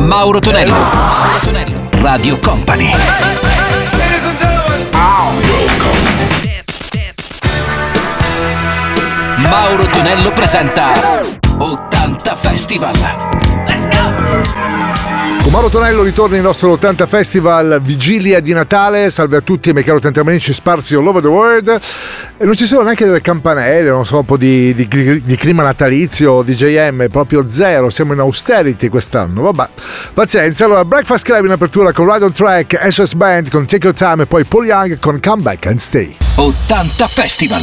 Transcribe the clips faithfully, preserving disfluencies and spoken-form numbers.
Mauro Tonello. Mauro Tonello. Radio Company. Mauro Tonello presenta ottanta Festival. Let's go! Con Mauro Tonello ritorna il nostro ottanta Festival, vigilia di Natale. Salve a tutti, miei cari ottanta amici sparsi all over the world. E non ci sono neanche delle campanelle, non so, un po' di, di, di clima natalizio, D J M, proprio zero. Siamo in austerity quest'anno, vabbè. Pazienza. Allora, Breakfast Club in apertura con Ride on Track, S O S Band con Take Your Time e poi Paul Young con Come Back and Stay. ottanta Festival.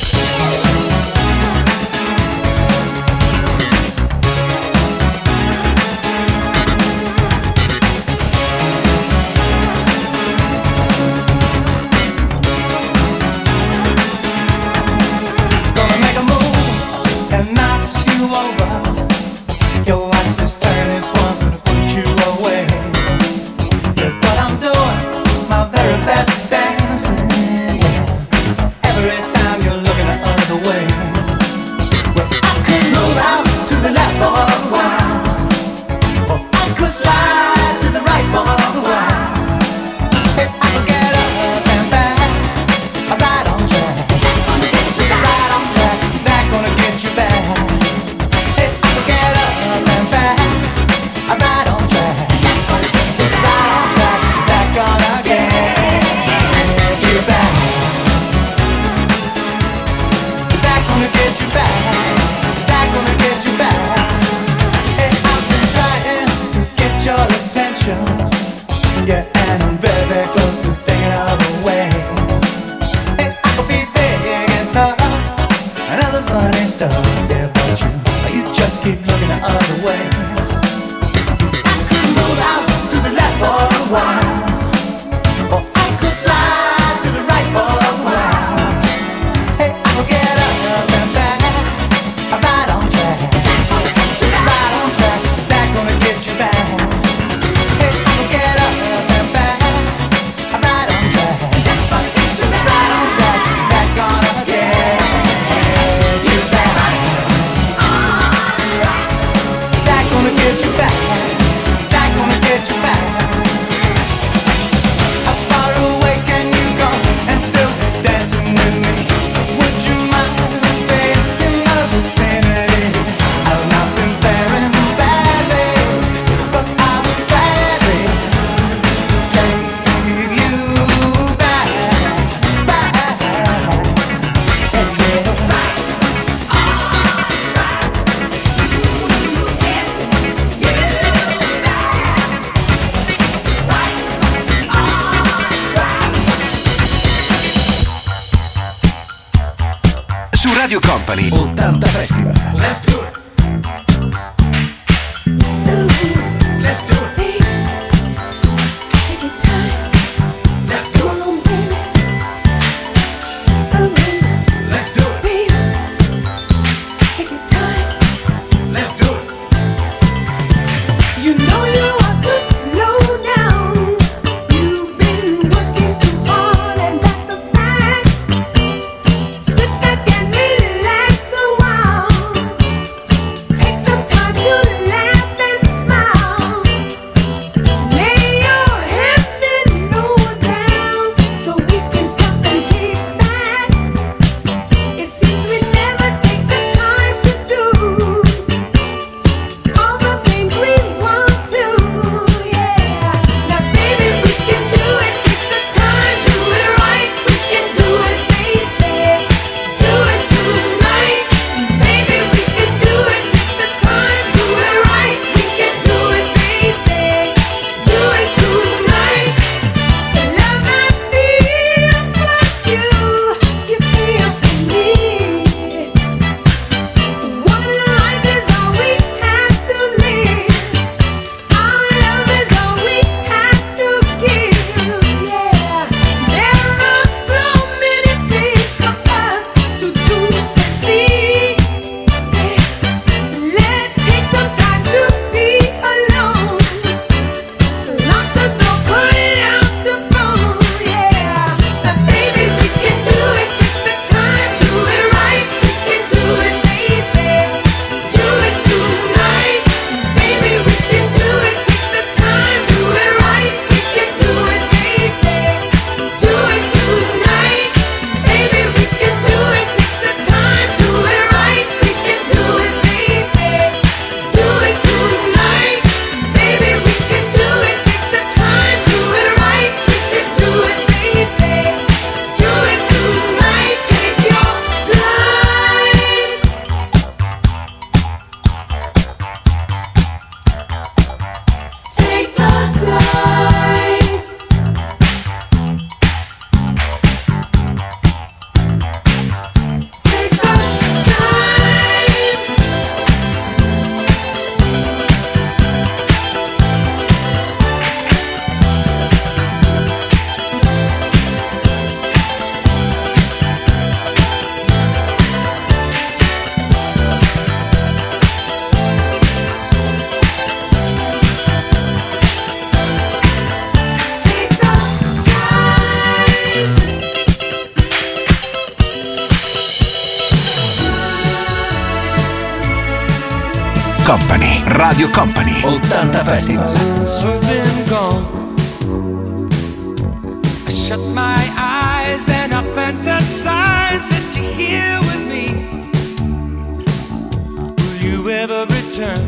Radio Company ottanta Festival. Let's do it. Let's do it. Take your time. Let's do it. Let's do it. Take your time. Let's do it. You know you ought to slow down. You've been working too hard and that's a fact. Sit back and relax a while. Company, Radio Company, ottanta Festival. Since you've been gone, I shut my eyes and I fantasize that you're here with me. Will you ever return?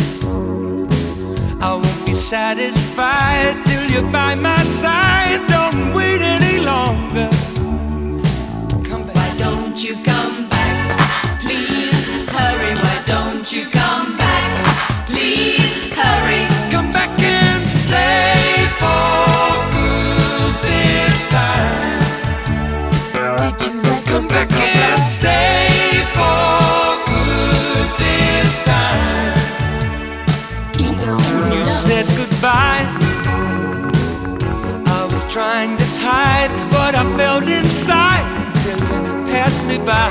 I won't be satisfied till you're by my side. Don't wait any longer. Come back. Why don't you come back? Please hurry. Why don't you come back? Please hurry. Come back and stay for good this time. Did you let Come back and stay for good this time. When you said goodbye, I was trying to hide what I felt inside till you passed me by.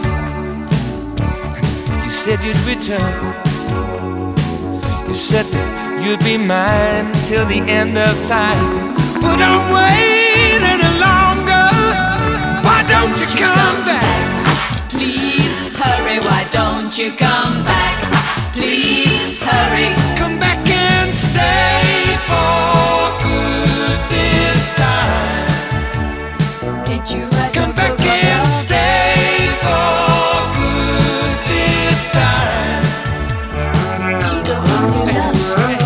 You said you'd return. You said that you'd be mine till the end of time. But don't wait any longer. Why don't you come back? Please hurry. Why don't you come back? Please hurry. Come back and stay for good this time. Did you write Come the back book and about- stay for good this time. Even when you love Stay.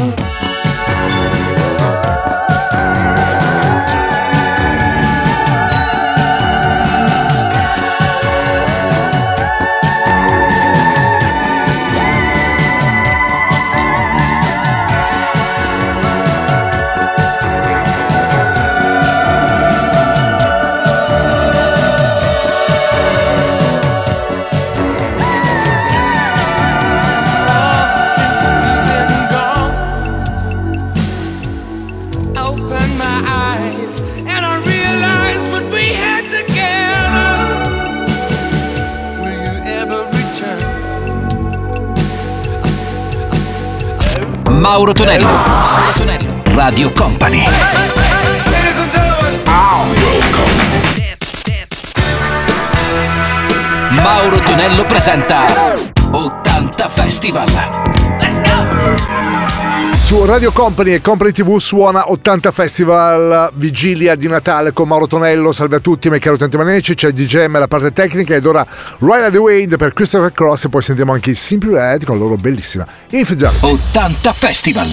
Since you've been gone, I opened my eyes and I realized what we had together. Will you ever return? Mauro Tonello, Mauro Tonello, Radio Company. Mauro Tonello presenta ottanta Festival. Let's go! Su Radio Company e Company tivù suona ottanta Festival, vigilia di Natale con Mauro Tonello. Salve a tutti, miei cari utenti maniaci, c'è il D J M la parte tecnica ed ora Ride the Wind per Christopher Cross e poi sentiamo anche i Simply Red con la loro bellissima Infidelity. ottanta Festival.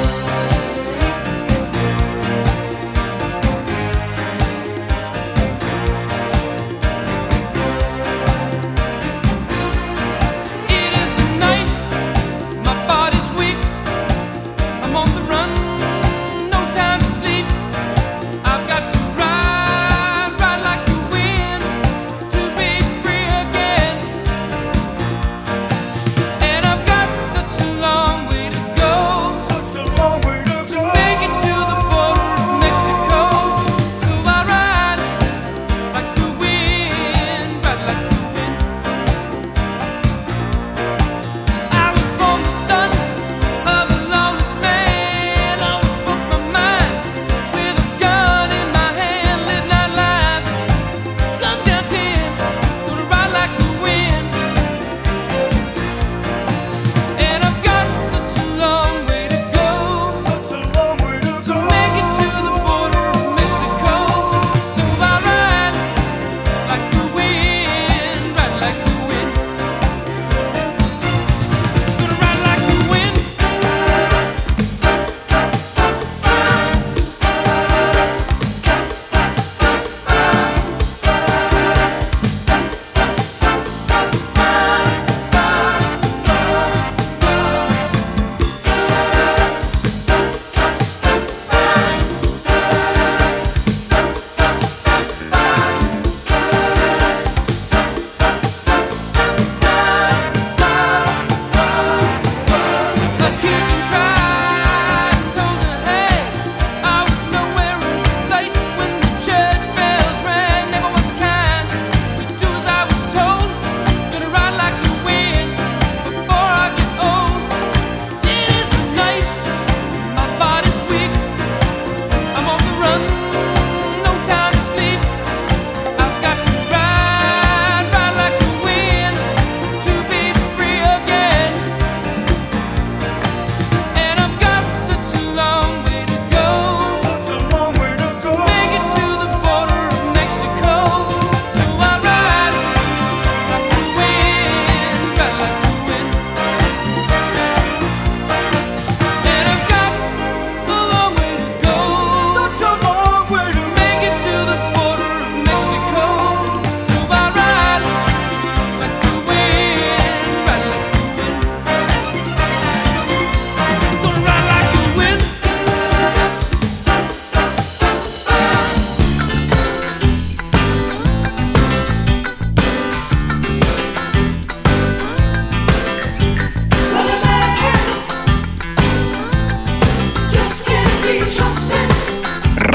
It is the night, my body's weak. I'm on the run, no time to sleep. I've got to ride, ride like the wind to be free again. And I've got such a long way to go, such a long way to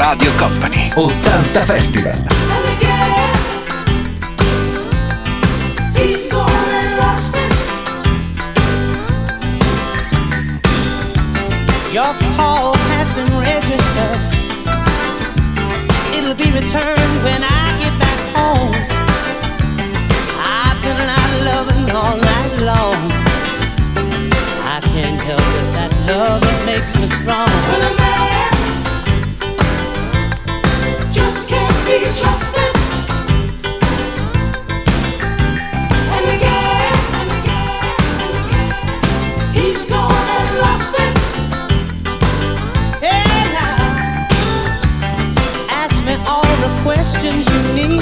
Radio Company. ottanta Festival. And again, he's gone and lost it. Your call has been registered. It'll be returned when I get back home. I've been out loving all night long. I can't help it, that love that makes me strong. When a man just can't be trusted. And again, and again, and again, he's gone and lost it. Hey, now, ask me all the questions you need.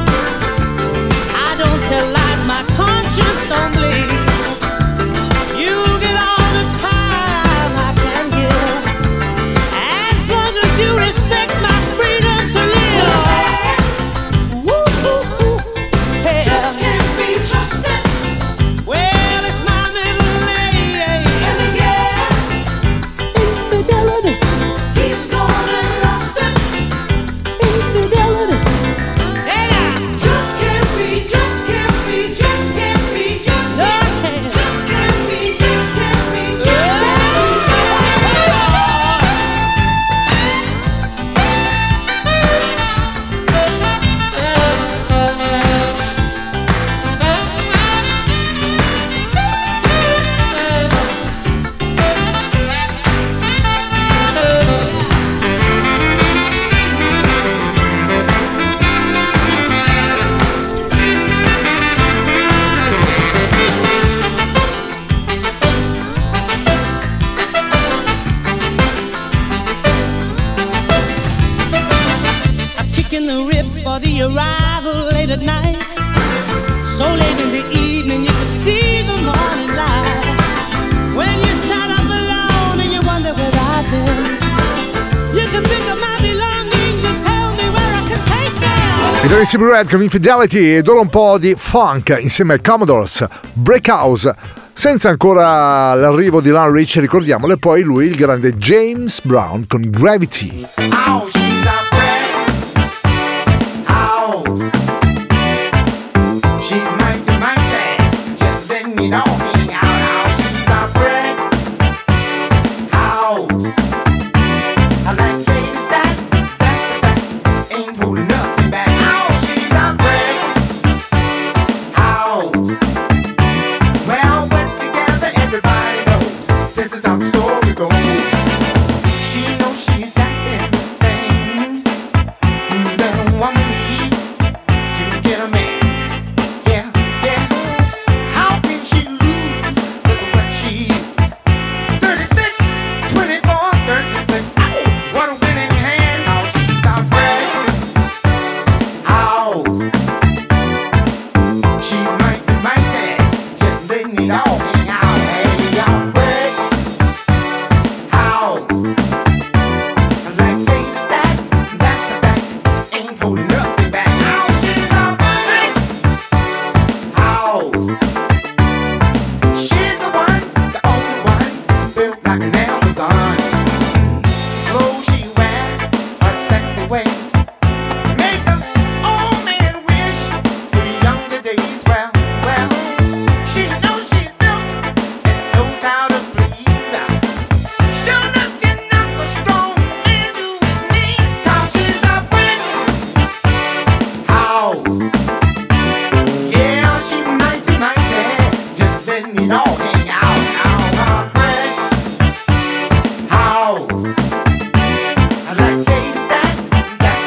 I don't tell lies, my conscience don't bleed. You get all the time I can give, as long as you respect my freedom to live. Woo, woo, woo. Hey, Just can't be trusted. well, it's my middle name. And again, Infidelity, he's gone and lost it. infidelity. Hey, now. Just can't be, just can't be, just can't be, just can't be, just can't be, just can't be, just can't be, just can't be. I'm kicking the ribs for the arrival late at night. So late in the evening you could see the morning light. When you sat up alone and you wonder where I've been, you can pick up my belongings and tell me where I can take them. I Dressy Red con Infidelity ed ora un po' di funk insieme ai Commodores, Break House. Senza ancora l'arrivo di Lionel Richie, ricordiamolo, e poi lui, il grande James Brown con Gravity. Oh, she's a friend. House. She's mighty, mighty. Just let me know me out. Oh, she's a friend. House. I like lady stack. That's a fact. Ain't holding nothing back. Oh, she's a friend. House. Well, put together, everybody knows this is how the story goes. She knows she's got everything that a woman needs to get a man. Yeah, yeah. How can she lose? Look at what she is. thirty-six, twenty-four, thirty-six. Ow, what a winning hand. How she's our bread house. She's mighty, mighty. Just letting it all hang out. Hey, our bread house. Like lady stack, that's a fact. Ain't holding nothing back. Now she's a big house. She's the one, the only one, built like an Amazon. Clothes she wears are sexy ways. Make a old man wish for the younger days. Well, well, she knows she's built and knows how to please. She'll knock and knock a strong man to his knees. 'Cause she's a brick house. Yeah, she's mighty, mighty. Just letting it all hang out. Now, a brick house. I like lady stack. That's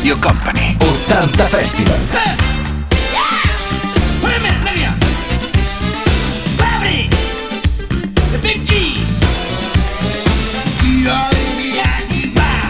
Radio Company ottanta Festival. Wait a minute, look here. Gravity, the big G. G R A V I T Y.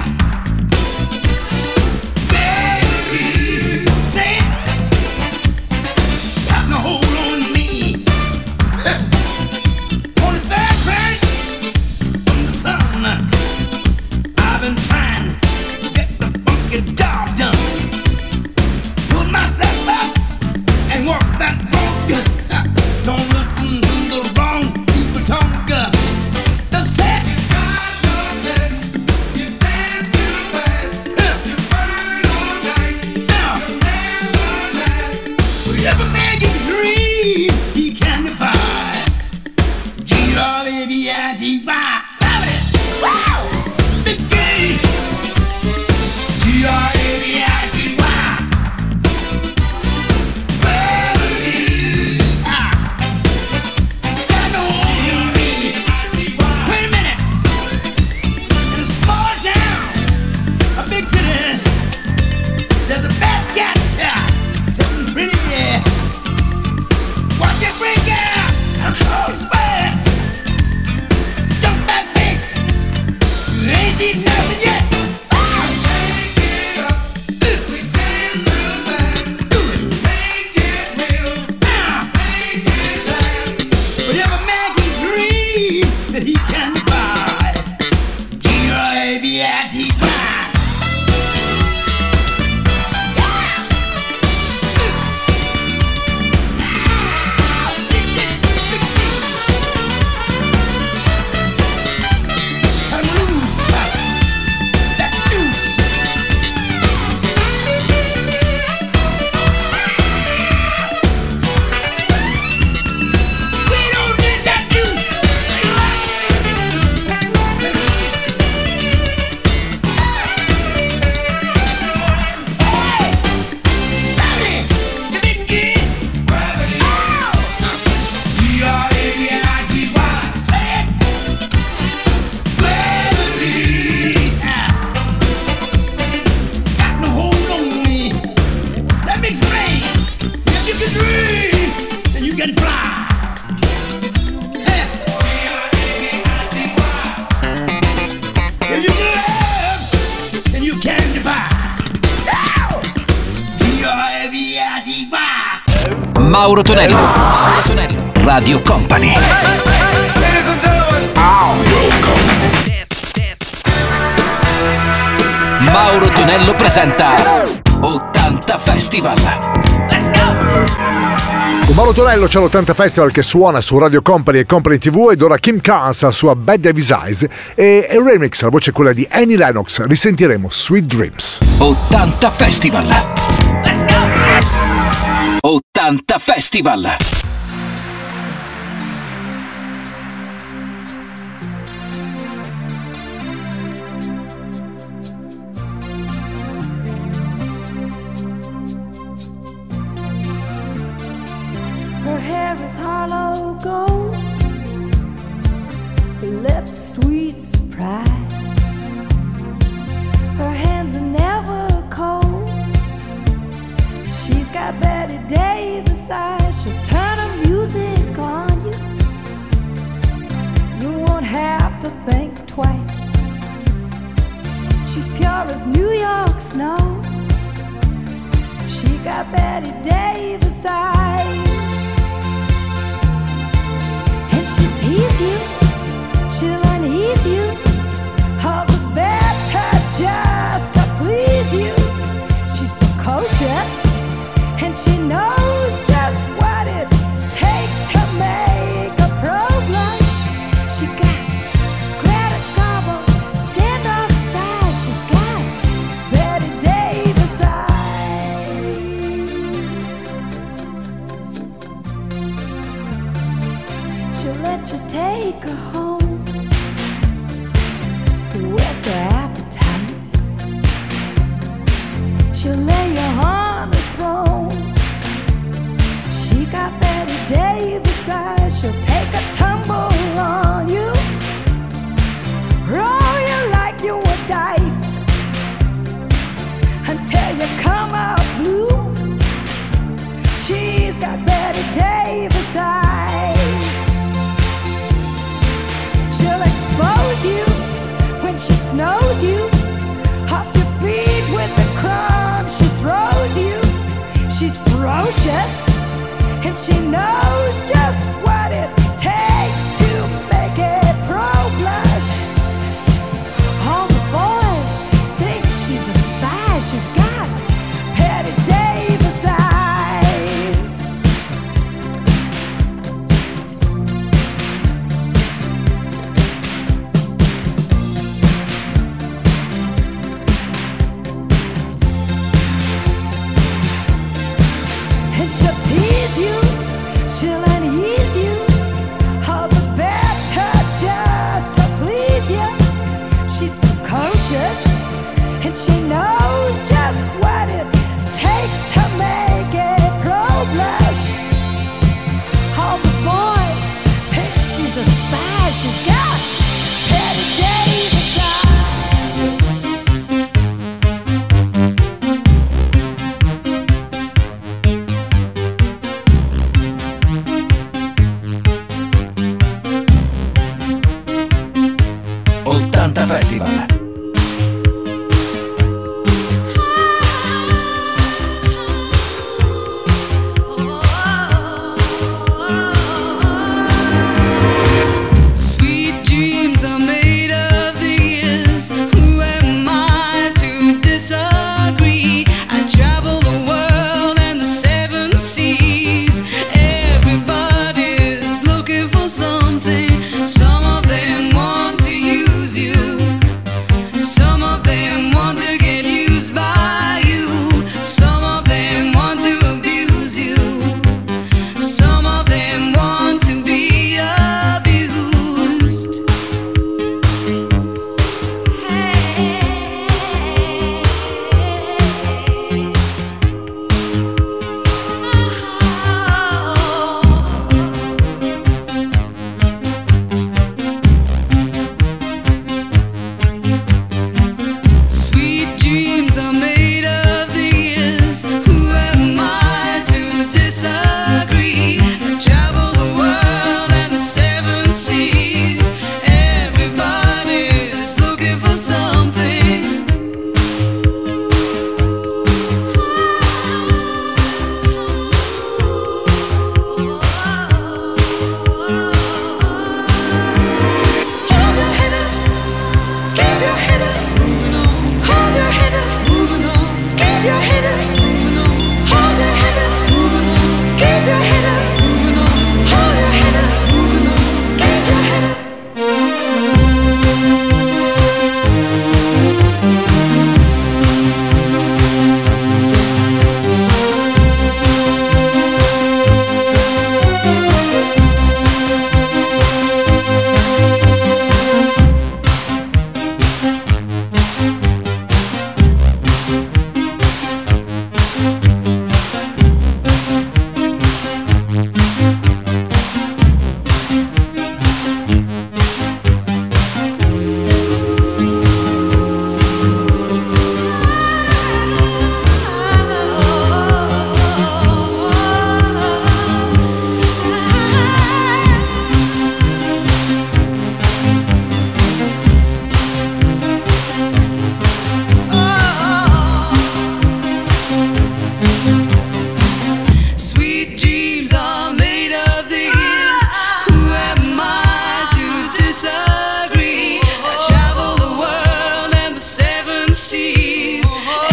Baby, say it. Got no hold on me. On the third track from the sun, I've been trying to get the funky job done. Pull myself up and walk that road. Don't listen to the wrong people talk. The set. Got no sense. You dance too fast. You burn all night. You never last. Whatever man can dream, he can defy. G R A V I T Y. Wow! Big game. G R A V I T Y. Wait a minute. In a small town, a big city, there's a bad cat, yeah, sitting pretty there. Watch it break out, and close sweat. Jump back big, you ain't eaten nothing yet. Shake it up, we dance too fast. Do it, make it real, make it last. Whatever man can dream that he can buy. G R A V I T Y. Cut 'em loose, that juice. We don't need that juice. Hey, you didn't get gravity. G R A V I T Y. Say it. Gravity. Got no hold on me. Let me explain. If you can dream, then you can fly. If you can love, then you can defy. G R A V I T Y. Mauro Tonello, Mauro Tonello, Radio Company. Mauro Tonello presenta ottanta Festival. Let's go! Con Mauro Tonello c'è l'ottanta Festival che suona su Radio Company e Company tivù, ed ora Kim Carnes la sua Bad Davis Eyes e il remix, la voce è quella di Annie Lennox. Risentiremo Sweet Dreams. ottanta Festival. Let's go! ottanta Festival. Her hair is hollow gold, her lips sweet surprise. Her hands are never cold. She's got Betty Davis eyes. She'll turn her music on you. You won't have to think twice. She's pure as New York snow. She got Betty Davis eyes. And she'll tease you, she'll unease you, all the better just to please you. She's precocious, and she knows just what it takes to make a pro blush. She got Greta Garbo, stand off side. She's got Betty Davis eyes. She'll let you take her she knows just what it takes to make a pro blush. All the boys think she's a spy. She's got Patty Davis eyes. And she'll tease you, she'll unease you, all the better just to please you. She's precocious, and she knows just what it takes to make a pro blush. All the boys think she's a spy. She's got Patty Davis eyes. ottanta Festival. Sweet dreams are made of these. Who am I to disagree? I travel the world and the seven seas. Everybody's looking for something. Some of them want to use you. Some of them want to get used by you. Some of them want to abuse you. Some of them want to be abused. Sweet dreams are made of these. Who am I to disagree? I travel the world and the seven seas. Everybody's looking for something. Hold your head up, keep your head up. Hold your head up, keep your head up. Hold your head up, keep your head up. Hold your head up, keep your head up. Sweet dreams are made of these. Who am I to disagree? I travel the world and the seven seas.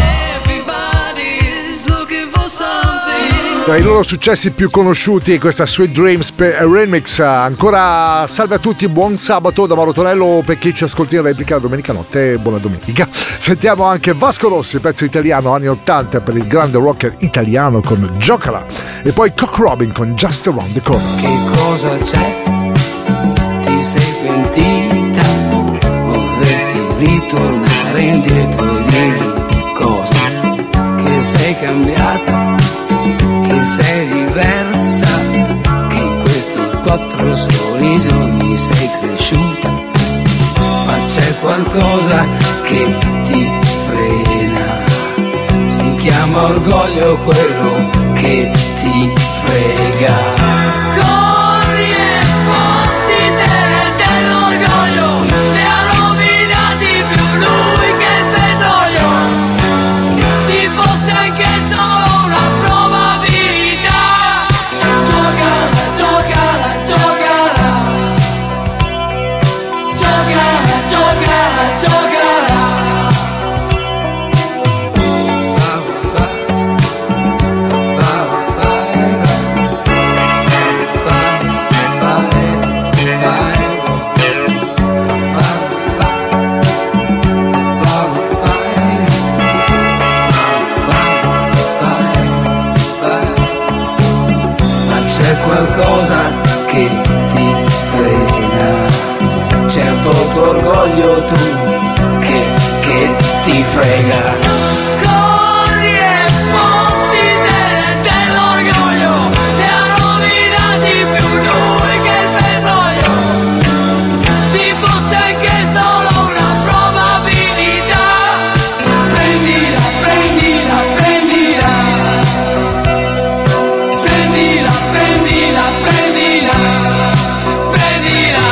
Everybody's looking for something. Tra i loro successi più conosciuti questa Sweet Dreams per Remix. Ancora salve a tutti, buon sabato da Mauro Tonello per chi ci ascolti in replica la domenica notte. Buona domenica. Sentiamo anche Vasco Rossi, pezzo italiano anni ottanta per il grande rocker italiano con Giocala, e poi Cock Robin con Just Around the Corner. Che cosa c'è? Ti sei pentita? Vorresti ritornare indietro e dirmi cosa? Che sei cambiata? Che sei diversa? Che in questi quattro soli giorni sei cresciuta? Ma c'è qualcosa che ti frena? Si chiama orgoglio quello che ti frega. Corri e fottite dell'orgoglio, ne ha rovinati più lui che il petrolio. Ci fosse anche solo una probabilità, gioca, gioca, giocherà. Qualcosa che ti frena, certo tuo orgoglio tu che, che ti frega. Corri e fotti te dell'orgoglio, ne ha rovinati più lui che il petrolio. Ci fosse anche solo una probabilità, prendila, prendila, prendila. Prendila, prendila, prendila, prendila.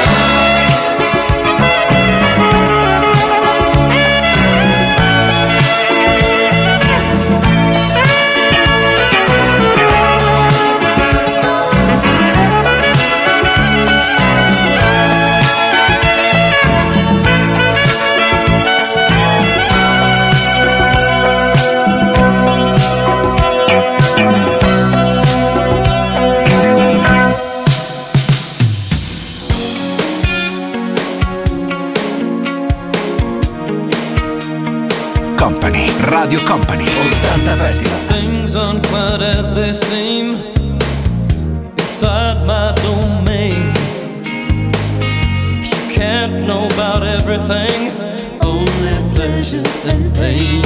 Company, Radio Company, ottanta Festival. Things aren't quite as they seem inside my domain. You can't know about everything, only pleasure and pain.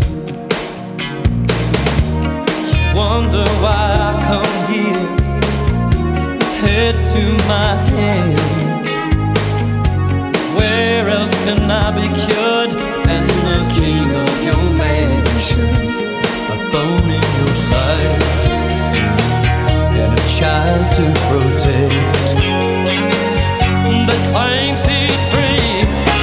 You wonder why I come here, head to my hands. Where else can I be cured and the king of your mansion? A bone in your side and a child to protect that claims he's free.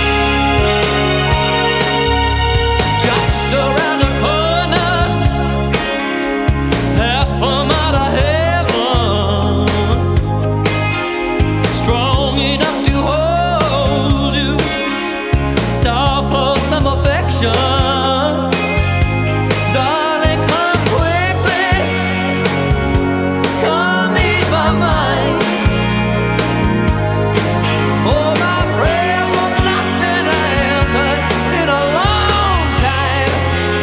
Just around the corner, half a mile of heaven, strong enough to hold you, star for some affection. Darling, come quickly, come ease my mind. Oh, my prayers have not been answered in a long time.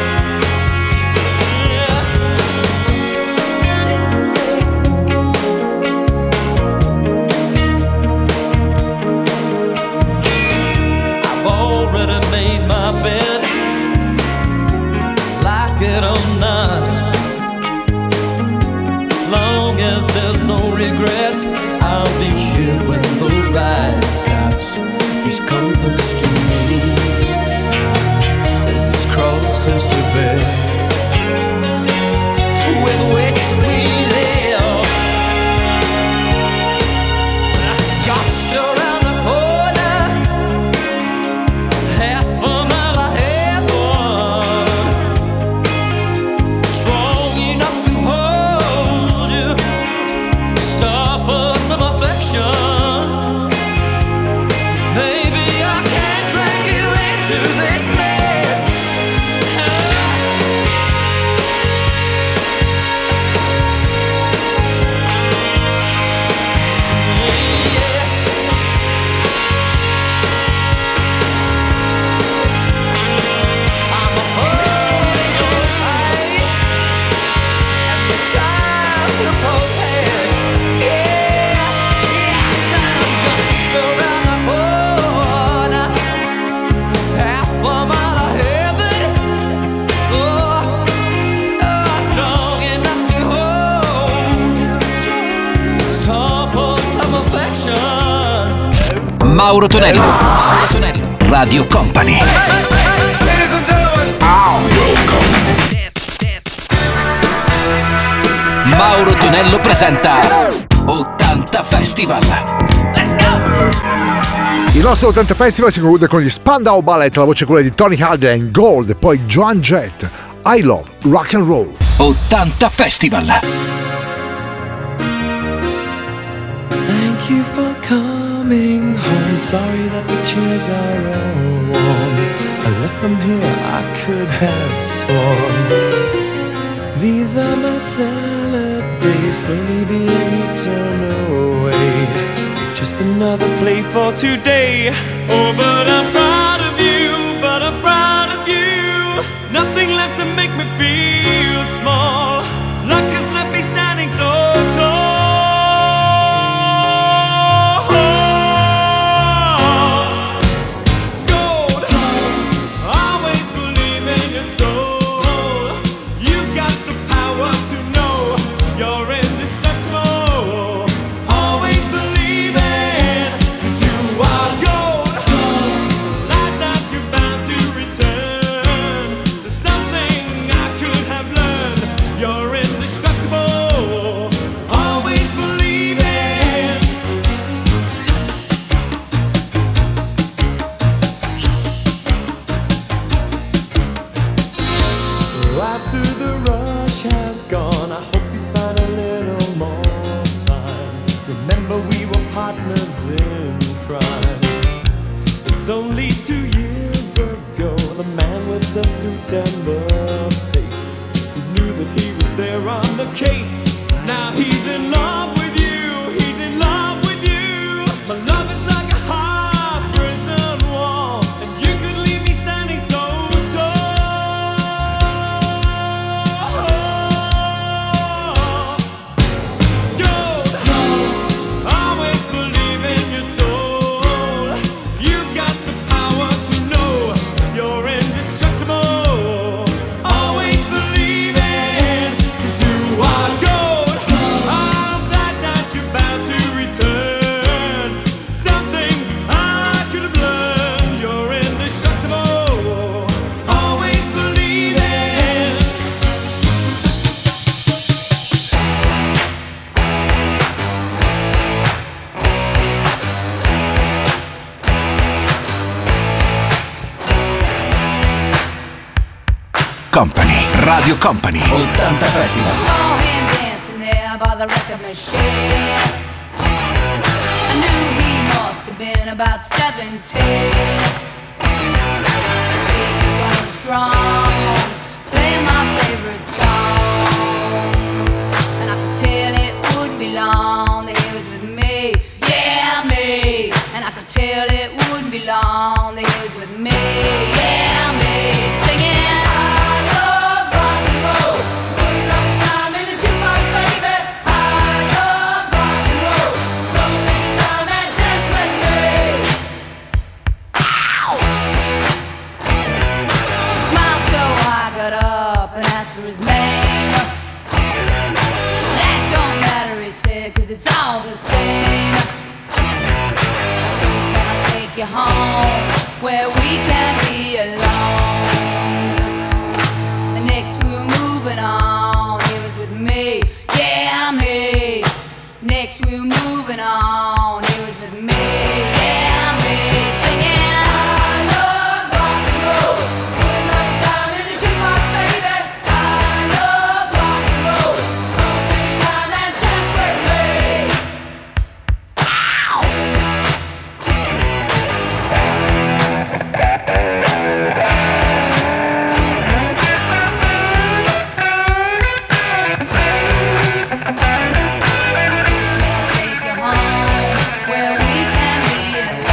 I've already made my bed, like it or not. As long as there's no regrets, I'll be here when the ride stops. These comforts to me, these crosses to bear, with which we live. Just around the corner, half a mile of heaven, strong enough to hold you, star for some affection. Baby, I can't drag you into this mess. Yeah. I'm a hole in your eye and a child to protect. Yes, yes, I'm just around the corner, half a mile of heaven. Oh, oh, strong enough to hold you, star for some affection. Mauro Tonello, Mauro Tonello, Radio Company. Mauro Tonello presenta ottanta Festival. Il nostro ottanta Festival si conclude con gli Spandau Ballet, la voce quella di Tony Hadley in Gold, e poi Joan Jett, I Love Rock and Roll. ottanta Festival. Thank you for coming home. I'm sorry that the chairs are all worn. I left them here, I could have sworn. These are my salad days, slowly being eaten away. Just another play for today. Oh, but I'm proud of you, but I'm proud of you. Nothing left to make me feel small. Luck has left me standing so tall. Gold, always believe in your soul. You've got the power to know you're indestructible. Always believe it, 'cause you are gold. Like that you're bound to return. There's something I could have learned. You're indestructible. Always believe it. After the rush has gone, I hope you find a little more time. Remember we were partners in crime. It's only two years ago, the man with the suit and the face, he knew that he was there on the case. Now he's in love with you, he's in love with you. My love is like a hard prison wall, and you could leave me standing so tall. Gold, always believe in your soul. You've got the power to know you're indestructible. Always believe it, 'cause you are gold. I'm glad that you're bound to return. Something I could have learned. You're indestructible. Always believe it. Company, Radio Company, ottanta Festival. Saw him dancing there by the record machine. I knew he must have been about seventeen. He was going strong, playing my favorite song, and I could tell it wouldn't be long that he was with me, yeah me. And I could tell it wouldn't be long that he was with me, yeah me, singing. Smiled so I got up and asked for his name. That don't matter, he said, 'cause it's all the same. I said, can I take you home where we can be alone? The next we were moving on, he was with me, yeah me. Next we were moving on, he was with me, yeah me, singing. Take you home where we can be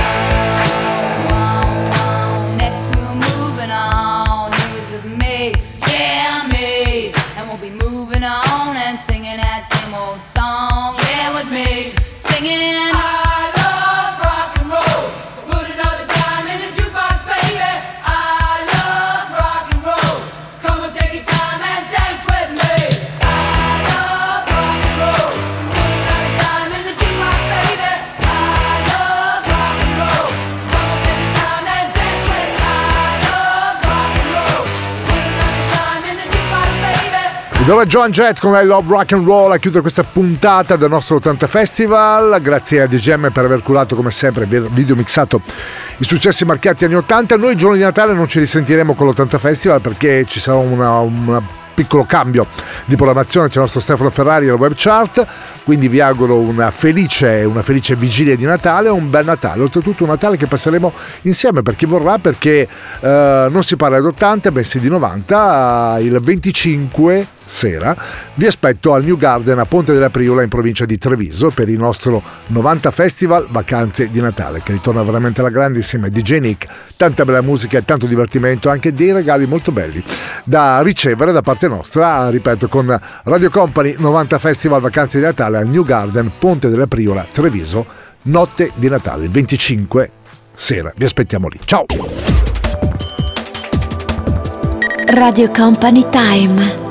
alone. Next we were moving on, he was with me, yeah me. And we'll be moving on and singing that same old song, yeah with me, singing. I love rock and roll, so put another dime in the jukebox, baby. I love rock and roll, so come and take your time and dance with me. I love rock and roll, so put another dime in the jukebox, baby. I love rock and roll, so come and take your time and dance with me. I love rock and roll, so put another dime in the jukebox, baby. Dove Joan Jett con I Love Rock and Roll a chiudere questa puntata del nostro ottanta Festival. Grazie a D J M per aver curato come sempre il video mixato i successi marcati anni ottanta. Noi il giorno di Natale non ci risentiremo con l'ottanta Festival perché ci sarà una, una piccolo cambio di programmazione, c'è il nostro Stefano Ferrari alla web chart, quindi vi auguro una felice, una felice vigilia di Natale, un bel Natale, oltretutto un Natale che passeremo insieme per chi vorrà, perché eh, non si parla di ottanta bensì di novanta. Il venticinque sera vi aspetto al New Garden a Ponte della Priola in provincia di Treviso per il nostro novanta Festival Vacanze di Natale, che ritorna veramente alla grande insieme a D J Nick, tanta bella musica e tanto divertimento, anche dei regali molto belli da ricevere da parte nostra, ripeto, con Radio Company novanta Festival Vacanze di Natale al New Garden Ponte della Priola Treviso, notte di Natale, il venticinque sera, vi aspettiamo lì. Ciao! Radio Company Time.